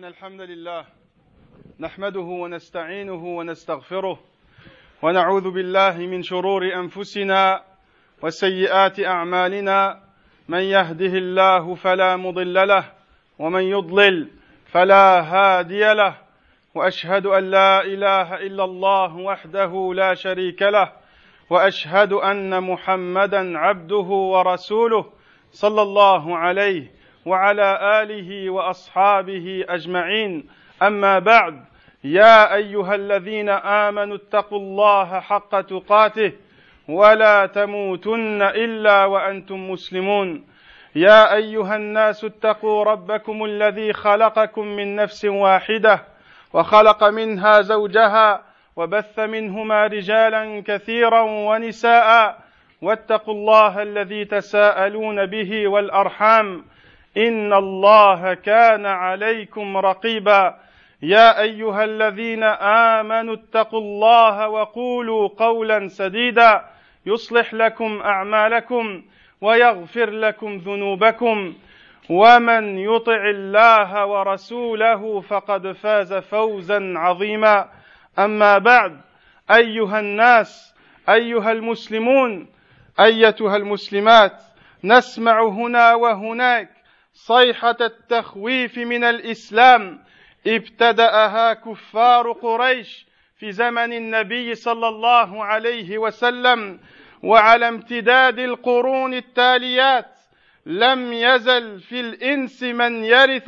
إن الحمد لله نحمده ونستعينه ونستغفره ونعوذ بالله من شرور أنفسنا وسيئات أعمالنا من يهده الله فلا مضل له ومن يضلل فلا هادي له وأشهد أن لا إله إلا الله وحده لا شريك له وأشهد أن محمدا عبده ورسوله صلى الله عليه وعلى آله وأصحابه أجمعين أما بعد يا أيها الذين آمنوا اتقوا الله حق تقاته ولا تموتن إلا وأنتم مسلمون يا أيها الناس اتقوا ربكم الذي خلقكم من نفس واحدة وخلق منها زوجها وبث منهما رجالا كثيرا ونساء واتقوا الله الذي تساءلون به والأرحام إن الله كان عليكم رقيبا يا أيها الذين آمنوا اتقوا الله وقولوا قولا سديدا يصلح لكم أعمالكم ويغفر لكم ذنوبكم ومن يطع الله ورسوله فقد فاز فوزا عظيما أما بعد أيها الناس أيها المسلمون أيتها المسلمات نسمع هنا وهناك صيحة التخويف من الإسلام ابتدأها كفار قريش في زمن النبي صلى الله عليه وسلم وعلى امتداد القرون التاليات لم يزل في الإنس من يرث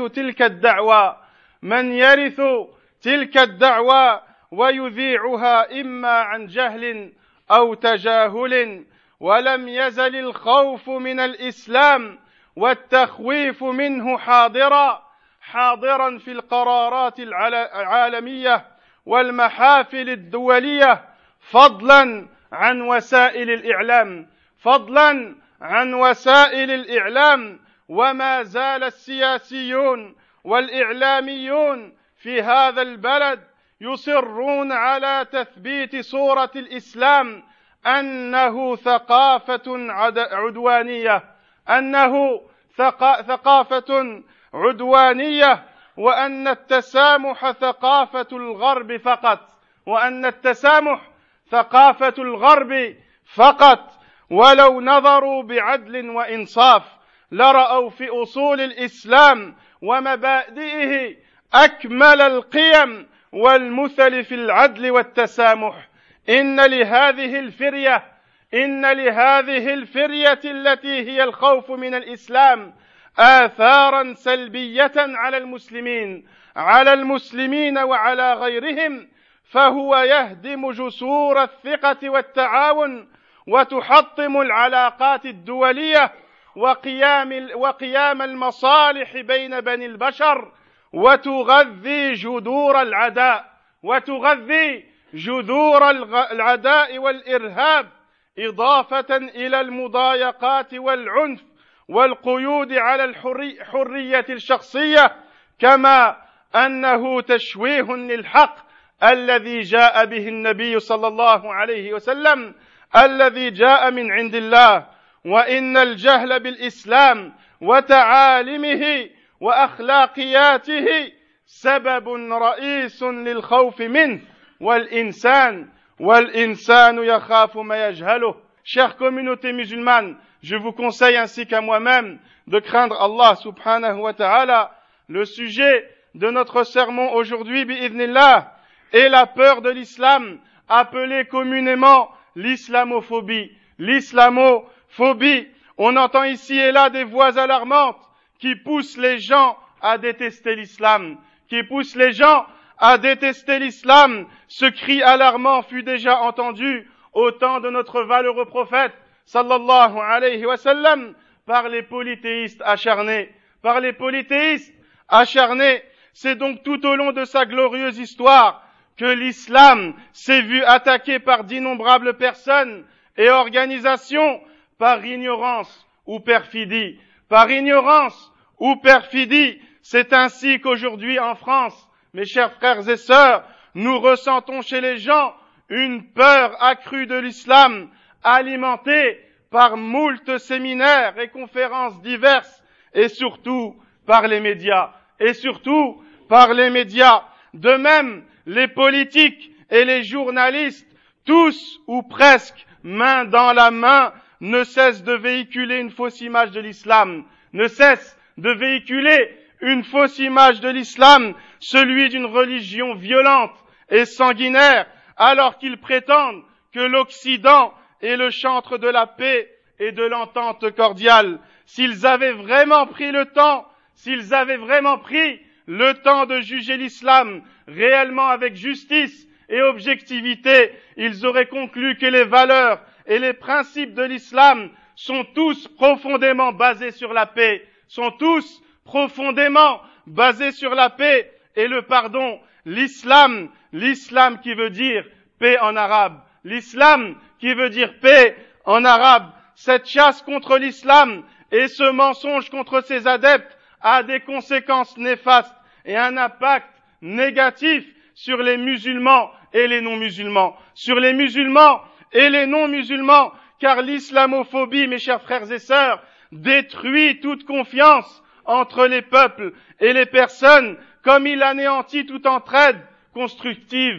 تلك الدعوى ويذيعها إما عن جهل أو تجاهل ولم يزل الخوف من الإسلام والتخويف منه حاضرا في القرارات العالمية والمحافل الدولية فضلا عن وسائل الإعلام وما زال السياسيون والإعلاميون في هذا البلد يصرون على تثبيت صورة الإسلام أنه ثقافة عدوانية وأن التسامح ثقافة الغرب فقط ولو نظروا بعدل وإنصاف لرأوا في أصول الإسلام ومبادئه أكمل القيم والمثل في العدل والتسامح إن لهذه الفرية التي هي الخوف من الإسلام آثارا سلبية على المسلمين وعلى غيرهم فهو يهدم جسور الثقة والتعاون وتحطم العلاقات الدولية وقيام المصالح بين بني البشر وتغذي جذور العداء والإرهاب إضافة إلى المضايقات والعنف والقيود على الحرية الشخصية كما أنه تشويه للحق الذي جاء به النبي صلى الله عليه وسلم الذي جاء من عند الله وإن الجهل بالإسلام وتعاليمه وأخلاقياته سبب رئيس للخوف منه والإنسان يخاف ما يجهله. Chère communauté musulmane, je vous conseille ainsi qu'à moi-même de craindre Allah subhanahu wa ta'ala. Le sujet de notre sermon aujourd'hui, bi'idhnillah, est la peur de l'islam, appelée communément l'islamophobie. L'islamophobie, on entend ici et là des voix alarmantes qui poussent les gens à détester l'islam. Ce cri alarmant fut déjà entendu au temps de notre valeureux prophète, sallallahu alayhi wa sallam, par les polythéistes acharnés. C'est donc tout au long de sa glorieuse histoire que l'islam s'est vu attaqué par d'innombrables personnes et organisations par ignorance ou perfidie. C'est ainsi qu'aujourd'hui en France, mes chers frères et sœurs, nous ressentons chez les gens une peur accrue de l'islam, alimentée par moult séminaires et conférences diverses, et surtout par les médias, par les médias. De même, les politiques et les journalistes, tous ou presque, main dans la main, ne cessent de véhiculer une fausse image de l'islam, ne cessent de véhiculer une fausse image de l'islam, celui d'une religion violente et sanguinaire, alors qu'ils prétendent que l'Occident est le chantre de la paix et de l'entente cordiale. S'ils avaient vraiment pris le temps de juger l'islam réellement avec justice et objectivité, ils auraient conclu que les valeurs et les principes de l'islam sont tous profondément basés sur la paix, et le pardon. L'islam qui veut dire paix en arabe, cette chasse contre l'islam et ce mensonge contre ses adeptes a des conséquences néfastes et un impact négatif sur les musulmans et les non-musulmans. Car l'islamophobie, mes chers frères et sœurs, détruit toute confiance entre les peuples et les personnes, comme il anéantit toute entraide constructive.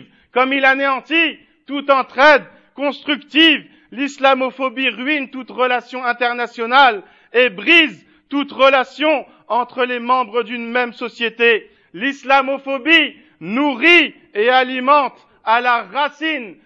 L'islamophobie ruine toute relation internationale et brise toute relation entre les membres d'une même société. L'islamophobie nourrit et alimente à la racine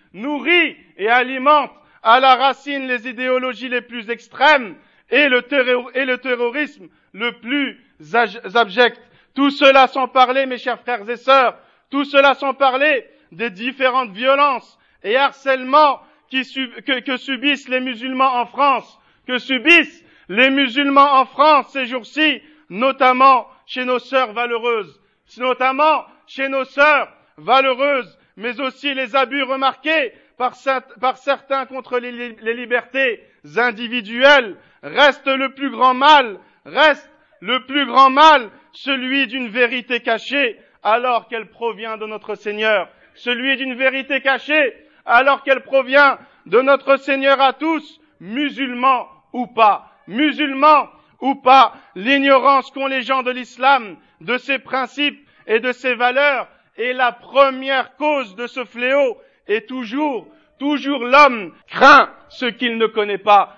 les idéologies les plus extrêmes et le terrorisme le plus abject. Tout cela sans parler, mes chers frères et sœurs, des différentes violences et harcèlements que subissent les musulmans en France, ces jours-ci, notamment chez nos sœurs valeureuses, mais aussi les abus remarqués par certains contre les libertés individuelles. Reste le plus grand mal, celui d'une vérité cachée, alors qu'elle provient de notre Seigneur. À tous, musulmans ou pas. L'ignorance qu'ont les gens de l'islam, de ses principes et de ses valeurs est la première cause de ce fléau. Et toujours l'homme craint ce qu'il ne connaît pas.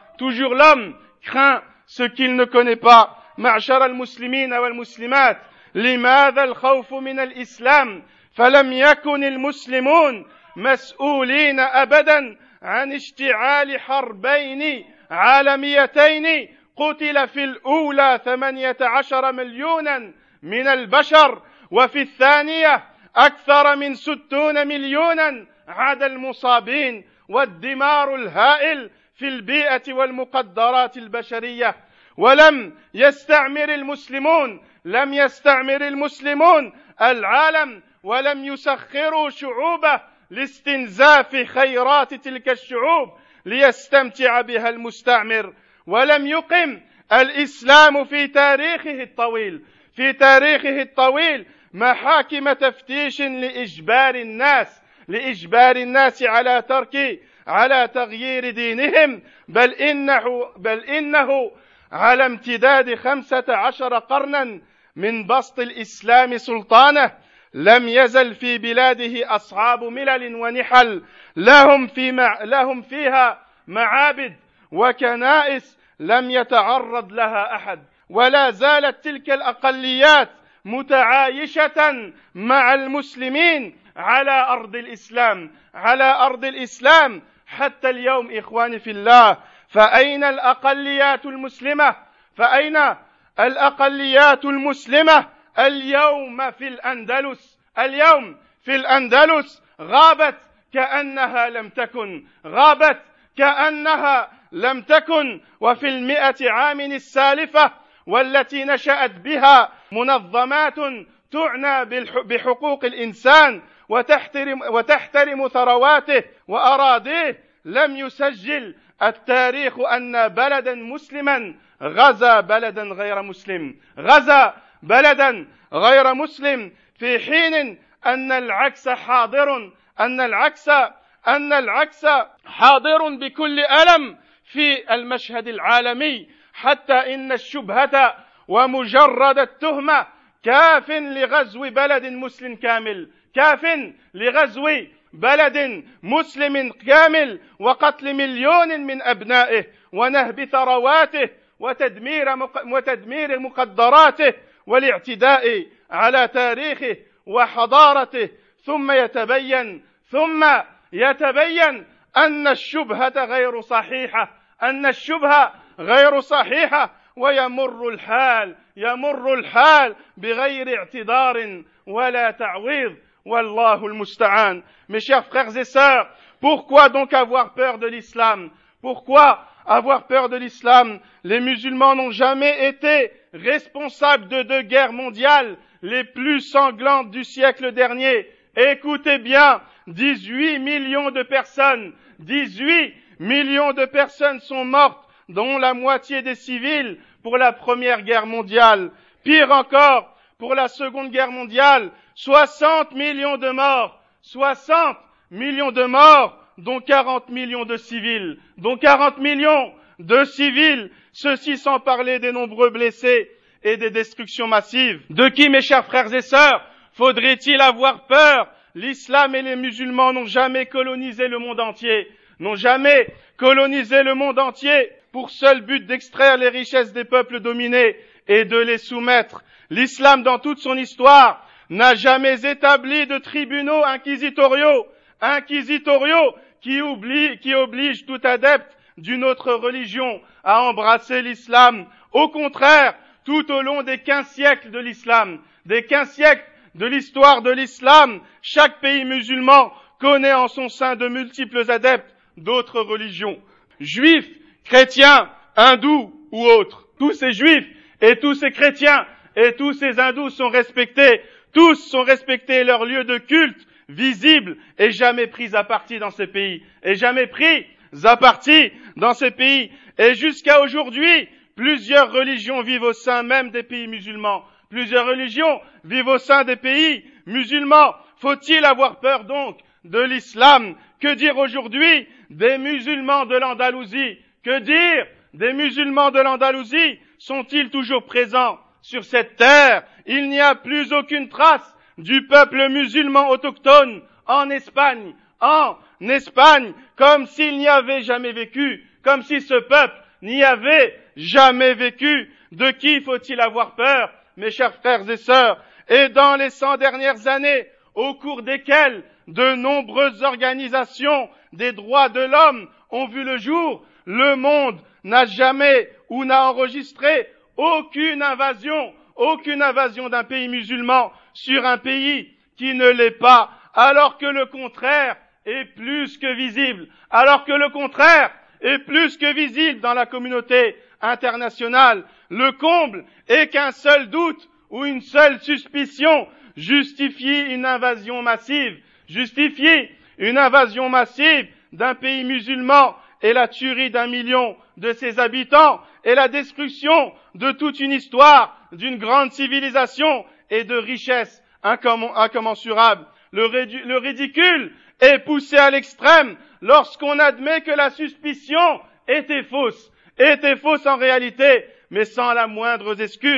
معشر المسلمين والمسلمات، لماذا الخوف من الإسلام؟ فلم يكن المسلمون مسؤولين أبدا عن اشتعال حربين عالميتين قتل في الأولى 18 مليونا من البشر، وفي الثانية أكثر من 60 مليونا عدا المصابين، والدمار الهائل في البيئة والمقدرات البشرية. ولم يستعمر المسلمون العالم، ولم يسخروا شعوبه لاستنزاف خيرات تلك الشعوب ليستمتع بها المستعمر. ولم يقم الإسلام في تاريخه الطويل محاكم تفتيش لإجبار الناس على تغيير دينهم، بل إنه على امتداد 15 قرنا من بسط الإسلام سلطانه لم يزل في بلاده أصحاب ملل ونحل لهم فيها معابد وكنائس لم يتعرض لها أحد، ولا زالت تلك الأقليات متعايشة مع المسلمين على أرض الإسلام حتى اليوم. إخواني في الله، فأين الأقليات المسلمة اليوم في الأندلس غابت كأنها لم تكن. وفي 100 عام السالفة والتي نشأت بها منظمات تعنى بحقوق الإنسان وتحترم ثرواته وأراضيه، لم يسجل التاريخ أن بلدا مسلما غزا بلدا غير مسلم، في حين أن العكس حاضر بكل ألم في المشهد العالمي، حتى إن الشبهة ومجرد التهمة كاف لغزو بلد مسلم كامل كاف لغزو بلد مسلم كامل وقتل مليون من أبنائه ونهب ثرواته وتدمير مقدراته والاعتداء على تاريخه وحضارته ثم يتبين أن الشبهة غير صحيحة ويمر الحال بغير اعتذار ولا تعويض والله المستعان. Mes chers frères et sœurs, pourquoi donc avoir peur de l'islam? Pourquoi avoir peur de l'islam? Les musulmans n'ont jamais été responsables de 2 guerres mondiales les plus sanglantes du siècle dernier. Écoutez bien, 18 millions de personnes sont mortes, dont la moitié des civils pour la Première Guerre mondiale. Pire encore, pour la Seconde Guerre mondiale, 60 millions de morts, dont 40 millions de civils, ceci sans parler des nombreux blessés et des destructions massives. De qui, mes chers frères et sœurs, faudrait-il avoir peur? L'islam et les musulmans n'ont jamais colonisé le monde entier pour seul but d'extraire les richesses des peuples dominés et de les soumettre. L'islam, dans toute son histoire, n'a jamais établi de tribunaux inquisitoriaux qui obligent tout adepte d'une autre religion à embrasser l'islam. Au contraire, tout au long des 15 siècles de l'islam, de l'histoire de l'islam, chaque pays musulman connaît en son sein de multiples adeptes d'autres religions. Juifs, chrétiens, hindous ou autres. Tous ces juifs et tous ces chrétiens et tous ces hindous sont respectés. Tous sont respectés leur lieu de culte visible et jamais pris à partie dans ces pays. Et jusqu'à aujourd'hui, plusieurs religions vivent au sein même des pays musulmans. Faut-il avoir peur donc de l'islam? Que dire aujourd'hui des musulmans de l'Andalousie? Sont-ils toujours présents sur cette terre? Il n'y a plus aucune trace du peuple musulman autochtone en Espagne, comme s'il n'y avait jamais vécu, comme si ce peuple n'y avait jamais vécu. De qui faut-il avoir peur, mes chers frères et sœurs? Et dans les 100 dernières années, au cours desquelles de nombreuses organisations des droits de l'homme ont vu le jour, le monde n'a jamais ou n'a enregistré aucune invasion d'un pays musulman sur un pays qui ne l'est pas, alors que le contraire est plus que visible, dans la communauté internationale. Le comble est qu'un seul doute ou une seule suspicion justifie une invasion massive d'un pays musulman et la tuerie d'1 million de ses habitants et la destruction de toute une histoire, d'une grande civilisation et de richesses incommensurables. Le ridicule est poussé à l'extrême lorsqu'on admet que la suspicion était fausse en réalité, mais sans la moindre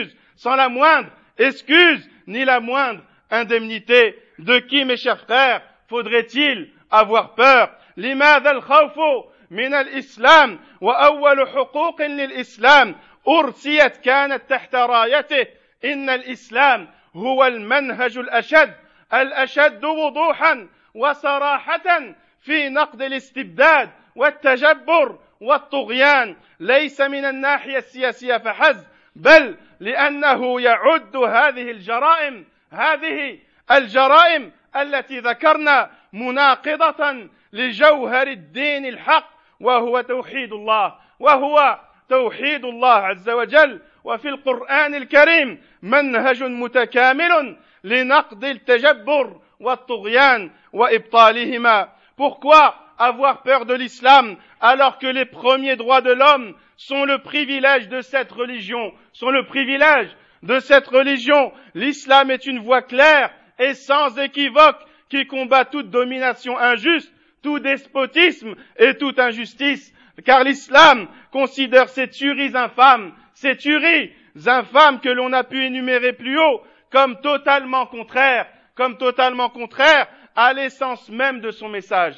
excuse, ni la moindre indemnité. De qui, mes chers frères, faudrait-il avoir peur? لماذا الخوف من الإسلام وأول حقوق للإسلام أرسيت كانت تحت رايته إن الإسلام هو المنهج الأشد وضوحا وصراحة في نقد الاستبداد والتجبر والطغيان، ليس من الناحية السياسية فحسب، بل لأنه يعد هذه الجرائم التي ذكرنا مناقضة لجوهر الدين الحق وهو توحيد الله عز وجل. وفي القرآن الكريم منهج متكامل لنقد التجبر والطغيان وإبطالهما. Pourquoi avoir peur de l'islam alors que les premiers droits de l'homme sont le privilège de cette religion? L'islam est une voie claire et sans équivoque qui combat toute domination injuste, tout despotisme et toute injustice. Car l'islam considère ces tueries infâmes que l'on a pu énumérer plus haut comme totalement contraire à l'essence même de son message,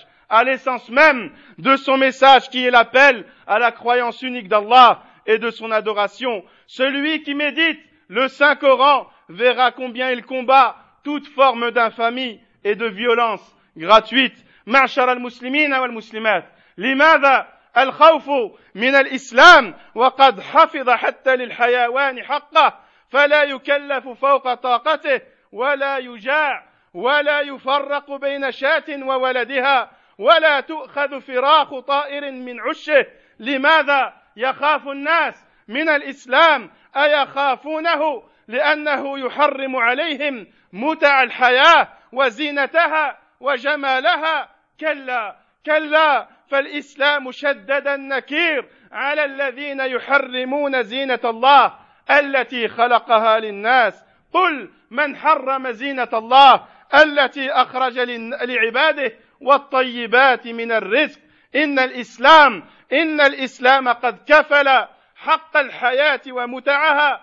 qui est l'appel à la croyance unique d'Allah et de son adoration. Celui qui médite le Saint-Coran verra combien il combat toute forme d'infamie et de violence gratuite. معشر المسلمين والمسلمات، لماذا الخوف من الإسلام وقد حفظ حتى للحيوان حقه فلا يكلف فوق طاقته ولا يجاع ولا يفرق بين شاة وولدها ولا تؤخذ فراخ طائر من عشه؟ لماذا يخاف الناس من الإسلام؟ أيخافونه لأنه يحرم عليهم متع الحياة وزينتها وجمالها؟ كلا، فالإسلام شدد النكير على الذين يحرمون زينة الله التي خلقها للناس. قل من حرم زينة الله التي أخرج لعباده والطيبات من الرزق؟ إن الإسلام قد كفل حق الحياة ومتعها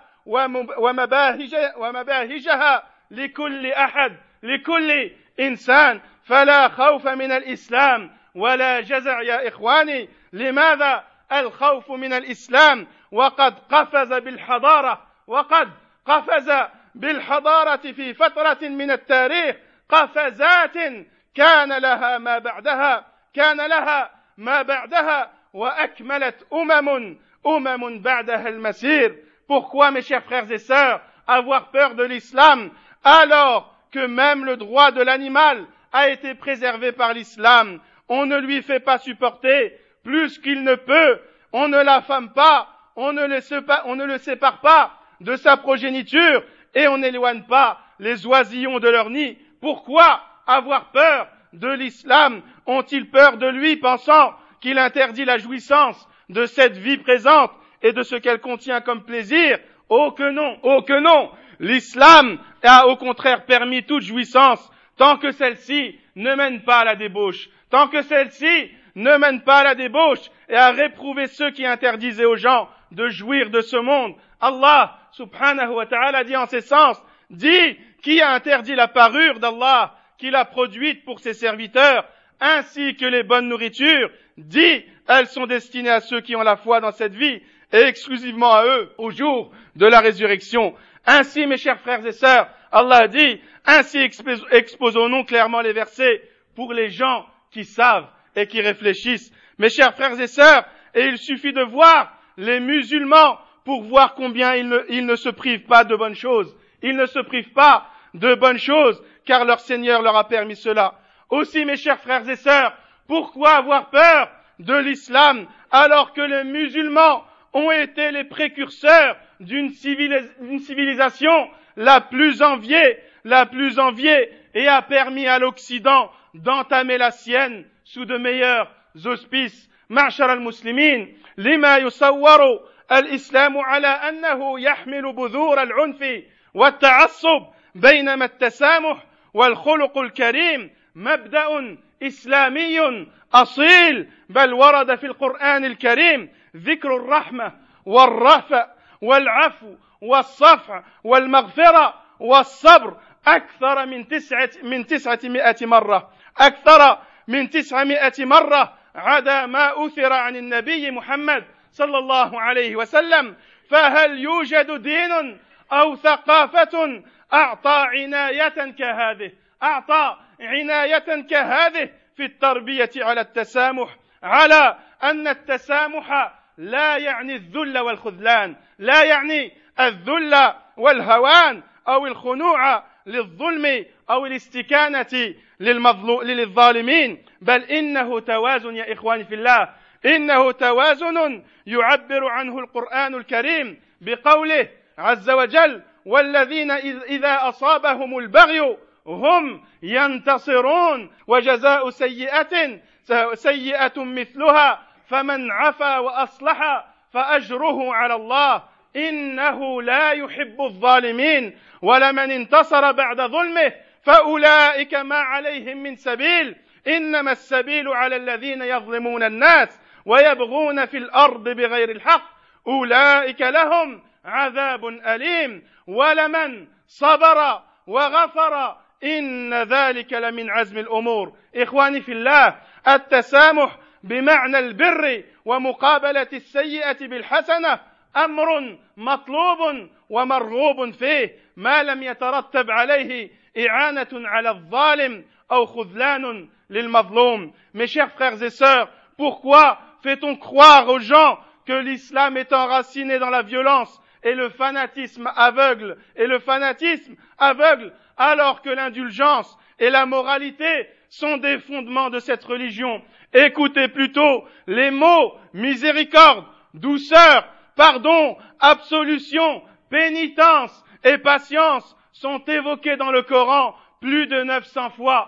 ومباهجها لكل أحد، لكل إنسان، فلا خوف من الإسلام ولا جزع يا إخواني. لماذا الخوف من الإسلام وقد قفز بالحضارة في فترة من التاريخ قفزات كان لها ما بعدها وأكملت أمم بعدها المسير. Pourquoi, mes chers frères et sœurs, avoir peur de l'islam alors que même le droit de l'animal a été préservé par l'islam? On ne lui fait pas supporter plus qu'il ne peut, on ne l'affame pas, on ne le sépare pas de sa progéniture et on n'éloigne pas les oisillons de leur nid. Pourquoi avoir peur de l'islam? Ont-ils peur de lui, pensant qu'il interdit la jouissance de cette vie présente et de ce qu'elle contient comme plaisir? Oh que non! L'islam a au contraire permis toute jouissance, tant que celle-ci ne mène pas à la débauche, et a réprouvé ceux qui interdisaient aux gens de jouir de ce monde. Allah subhanahu wa ta'ala dit en ces sens, dit qui a interdit la parure d'Allah qu'il a produite pour ses serviteurs, ainsi que les bonnes nourritures, dit elles sont destinées à ceux qui ont la foi dans cette vie et exclusivement à eux au jour de la résurrection. Ainsi, mes chers frères et sœurs, Allah dit, ainsi exposons-nous clairement les versets pour les gens qui savent et qui réfléchissent. Mes chers frères et sœurs, et il suffit de voir les musulmans pour voir combien ils ne se privent pas de bonnes choses. Ils ne se privent pas de bonnes choses, car leur Seigneur leur a permis cela. Aussi, mes chers frères et sœurs, pourquoi avoir peur de l'islam alors que les musulmans ont été les précurseurs d'une civilisation la plus enviée et a permis à l'Occident d'entamer la sienne sous de meilleurs auspices. معشر المسلمين، لما يصور الإسلام على أنه يحمل بذور العنف والتعصب، بينما التسامح والخلق الكريم مبدأ إسلامي أصيل، بل ورد في القرآن الكريم ذكر الرحمة والرأفة والعفو والصفح والمغفرة والصبر أكثر من 900 مرة عدا ما أثر عن النبي محمد صلى الله عليه وسلم. فهل يوجد دين أو ثقافة أعطى عناية كهذه في التربية على التسامح، على أن التسامح لا يعني الذل والخذلان، لا يعني الذل والهوان أو الخنوع للظلم أو الاستكانة للظالمين، بل إنه توازن يا إخواني في الله، إنه توازن يعبر عنه القرآن الكريم بقوله عز وجل: والذين إذا أصابهم البغي هم ينتصرون، وجزاء سيئة مثلها، فمن عفا وأصلح فأجره على الله إنه لا يحب الظالمين، ولمن انتصر بعد ظلمه فأولئك ما عليهم من سبيل، إنما السبيل على الذين يظلمون الناس ويبغون في الأرض بغير الحق أولئك لهم عذاب أليم، ولمن صبر وغفر إن ذلك لمن عزم الأمور. إخواني في الله، التسامح بمعنى البر ومقابلة السيئة بالحسنة أمر مطلوب ومرغوب فيه ما لم يترتب عليه إعانة على الظالم أو خذلان للمظلوم. Mes chers frères et sœurs, pourquoi fait-on croire aux gens que l'islam est enraciné dans la violence et le fanatisme aveugle, alors que l'indulgence et la moralité sont des fondements de cette religion? Écoutez plutôt les mots miséricorde, douceur, pardon, absolution, pénitence et patience sont évoqués dans le Coran plus de 900 fois,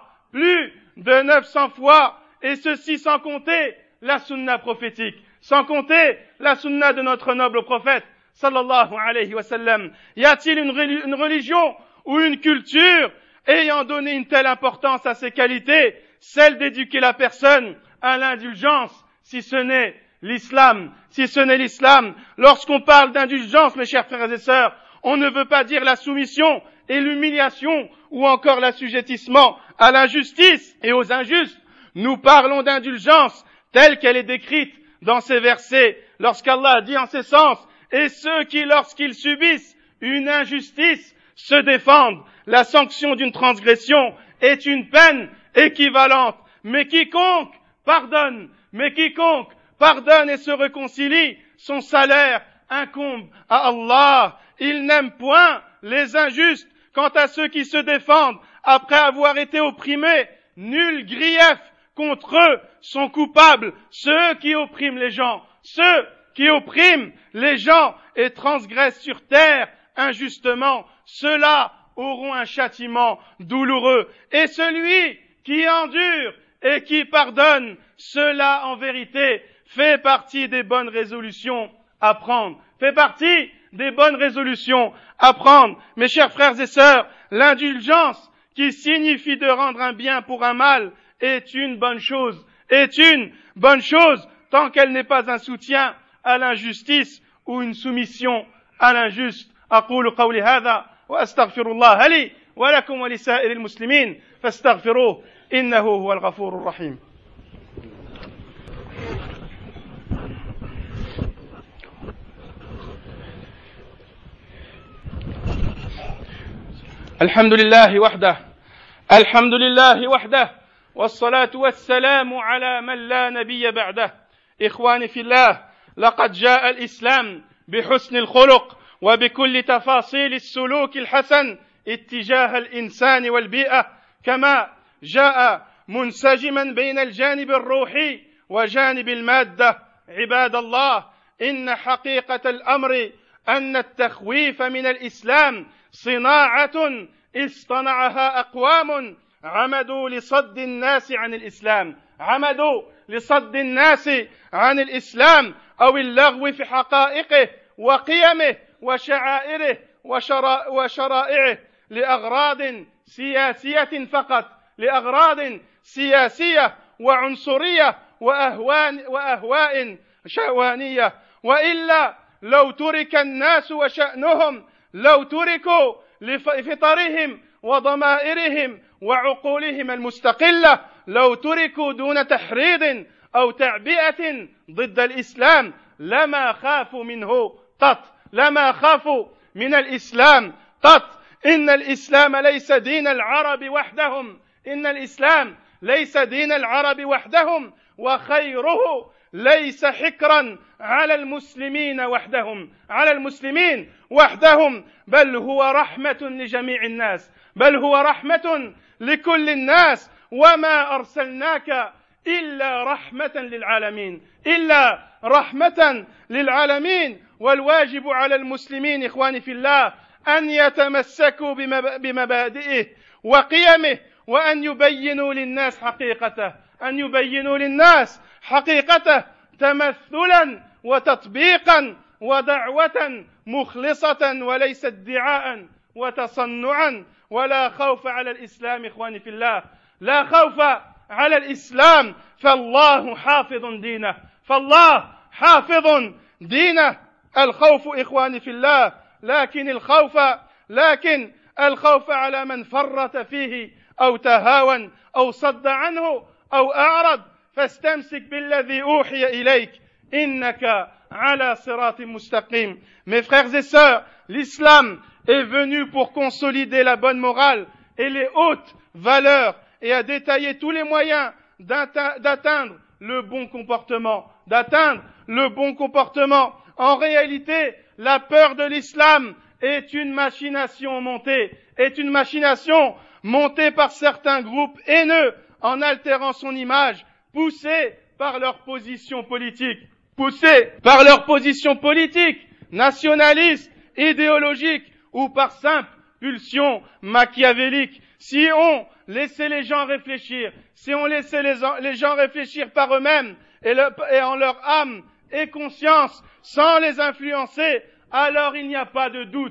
et ceci sans compter la sunna prophétique, sans compter la sunna de notre noble prophète, sallallahu alayhi wa sallam. Y a-t-il une religion ou une culture ayant donné une telle importance à ces qualités, celle d'éduquer la personne à l'indulgence, si ce n'est l'islam? Lorsqu'on parle d'indulgence, mes chers frères et sœurs, on ne veut pas dire la soumission et l'humiliation ou encore l'assujettissement à l'injustice et aux injustes. Nous parlons d'indulgence telle qu'elle est décrite dans ces versets, lorsqu'Allah dit en ces sens: et ceux qui, lorsqu'ils subissent une injustice, se défendent. La sanction d'une transgression est une peine équivalente. Mais quiconque pardonne et se réconcilie, son salaire incombe à Allah. Il n'aime point les injustes. Quant à ceux qui se défendent après avoir été opprimés, nul grief contre eux sont coupables. Ceux qui oppriment les gens et transgressent sur terre injustement, ceux-là auront un châtiment douloureux. Et celui qui endure et qui pardonne, cela en vérité fait partie des bonnes résolutions à prendre. Mes chers frères et sœurs, l'indulgence, qui signifie de rendre un bien pour un mal, est une bonne chose tant qu'elle n'est pas un soutien à l'injustice ou une soumission à l'injuste. أقول قولي هذا وأستغفر الله لي ولكم ولسائر المسلمين فاستغفروه إنه هو الغفور الرحيم. الحمد لله وحده والصلاة والسلام على من لا نبي بعده. إخواني في الله، لقد جاء الإسلام بحسن الخلق وبكل تفاصيل السلوك الحسن اتجاه الإنسان والبيئة، كما جاء منسجما بين الجانب الروحي وجانب المادة. عباد الله، إن حقيقة الأمر أن التخويف من الإسلام صناعة اصطنعها أقوام عمدوا لصد الناس عن الإسلام أو اللغو في حقائقه وقيمه وشعائره وشرائعه لأغراض سياسية فقط، لأغراض سياسية وعنصرية وأهواء شهوانية. وإلا لو ترك الناس وشأنهم، لو تركوا لفطرهم وضمائرهم وعقولهم المستقلة، لو تركوا دون تحريض أو تعبئة ضد الإسلام، لما خافوا من الإسلام قط. إن الإسلام ليس دين العرب وحدهم، وخيره ليس حكرا على المسلمين وحدهم، بل هو رحمة لجميع الناس، بل هو رحمة لكل الناس. وما أرسلناك إلا رحمة للعالمين. والواجب على المسلمين إخواني في الله أن يتمسكوا بمبادئه وقيمه، وأن يبينوا للناس حقيقته تمثلا وتطبيقا ودعوة مخلصة وليس ادعاء وتصنعا. ولا خوف على الإسلام إخواني في الله، لا خوف على الإسلام، فالله حافظ دينه. الخوف إخواني في الله، لكن الخوف على من فرط فيه أو تهاون أو صد عنه أو أعرض فاستمسك بالذي أوحي إليك إنك على صراط مستقيم. Mes frères et sœurs, l'islam est venu pour consolider la bonne morale et les hautes valeurs et à détailler tous les moyens d'atteindre le bon comportement, En réalité, la peur de l'islam est une machination montée par certains groupes haineux en altérant son image, poussés par leur position politique, nationaliste, idéologique ou par simple pulsion machiavélique. Si on laissait les gens réfléchir, les gens réfléchir par eux-mêmes et en leur âme et conscience, sans les influencer, alors il n'y a pas de doute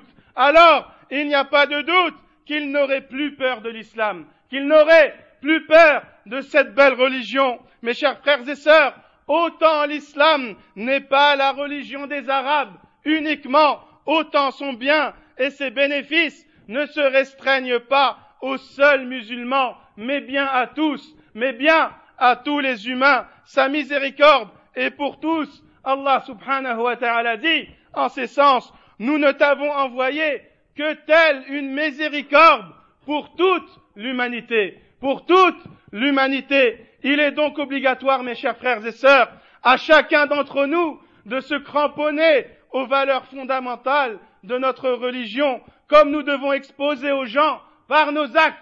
qu'ils n'auraient plus peur de l'islam, qu'ils n'auraient plus peur de cette belle religion. Mes chers frères et sœurs, autant l'islam n'est pas la religion des Arabes uniquement, autant son bien et ses bénéfices ne se restreignent pas aux seuls musulmans, mais bien à tous les humains. Sa miséricorde est pour tous. Allah subhanahu wa ta'ala dit en ces sens, nous ne t'avons envoyé que telle une miséricorde pour toute l'humanité. Il est donc obligatoire, mes chers frères et sœurs, à chacun d'entre nous de se cramponner aux valeurs fondamentales de notre religion, comme nous devons exposer aux gens par nos actes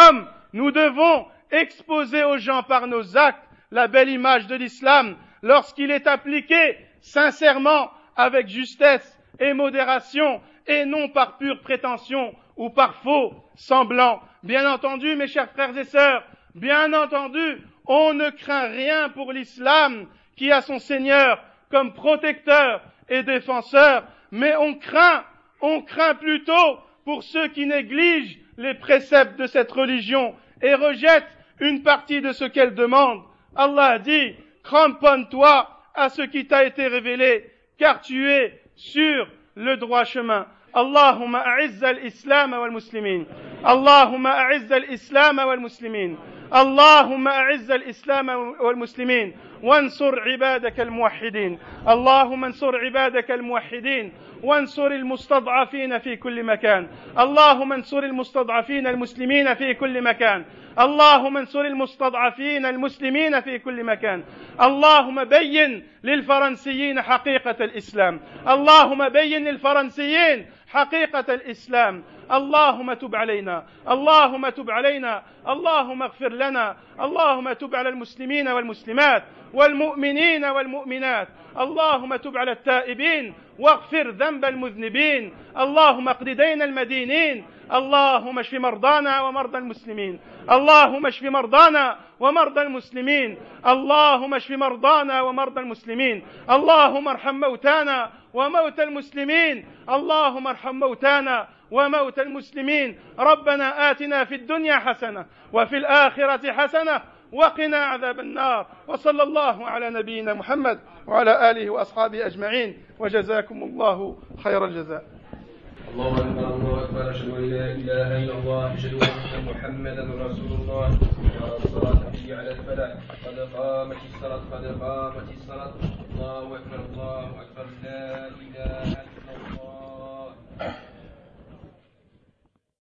la belle image de l'islam lorsqu'il est appliqué sincèrement avec justesse et modération et non par pure prétention ou par faux semblant. Bien entendu, mes chers frères et sœurs, on ne craint rien pour l'islam qui a son Seigneur comme protecteur et défenseur, mais on craint plutôt pour ceux qui négligent les préceptes de cette religion et rejettent une partie de ce qu'elle demande. Allah dit, cramponne-toi à ce qui t'a été révélé, car tu es sur le droit chemin. Allahumma a'izz al-islam wal-muslimin. Allahumma a'izz al-islam wal-muslimin. اللهم أعز الإسلام والمسلمين وانصر عبادك الموحدين اللهم انصر عبادك الموحدين وانصر المستضعفين في كل مكان اللهم انصر المستضعفين المسلمين في كل مكان اللهم انصر المستضعفين المسلمين في كل مكان اللهم بين للفرنسيين حقيقة الإسلام اللهم بين للفرنسيين حقيقة الإسلام اللهم تب علينا اللهم اغفر لنا اللهم تب على المسلمين والمسلمات والمؤمنين والمؤمنات اللهم تب على التائبين واغفر ذنب المذنبين اللهم اقض دين المدينين اللهم اشف مرضانا ومرضى المسلمين اللهم اشف مرضانا ومرضى المسلمين اللهم اشف مرضانا ومرضى المسلمين اللهم ارحم موتانا وموتى المسلمين اللهم ارحم موتانا وموتى المسلمين ربنا آتنا في الدنيا حسنة وفي الآخرة حسنة وقنا عذاب النار وصلى الله على نبينا محمد وعلى آله وأصحابه أجمعين وجزاكم الله خير الجزاء. الله أكبر الله أكبر أشهد أن لا إله إلا الله أشهد أن محمدا رسول الله الصلاة حي على الفلاح قد قامت الصلاة الله أكبر لا إله إلا الله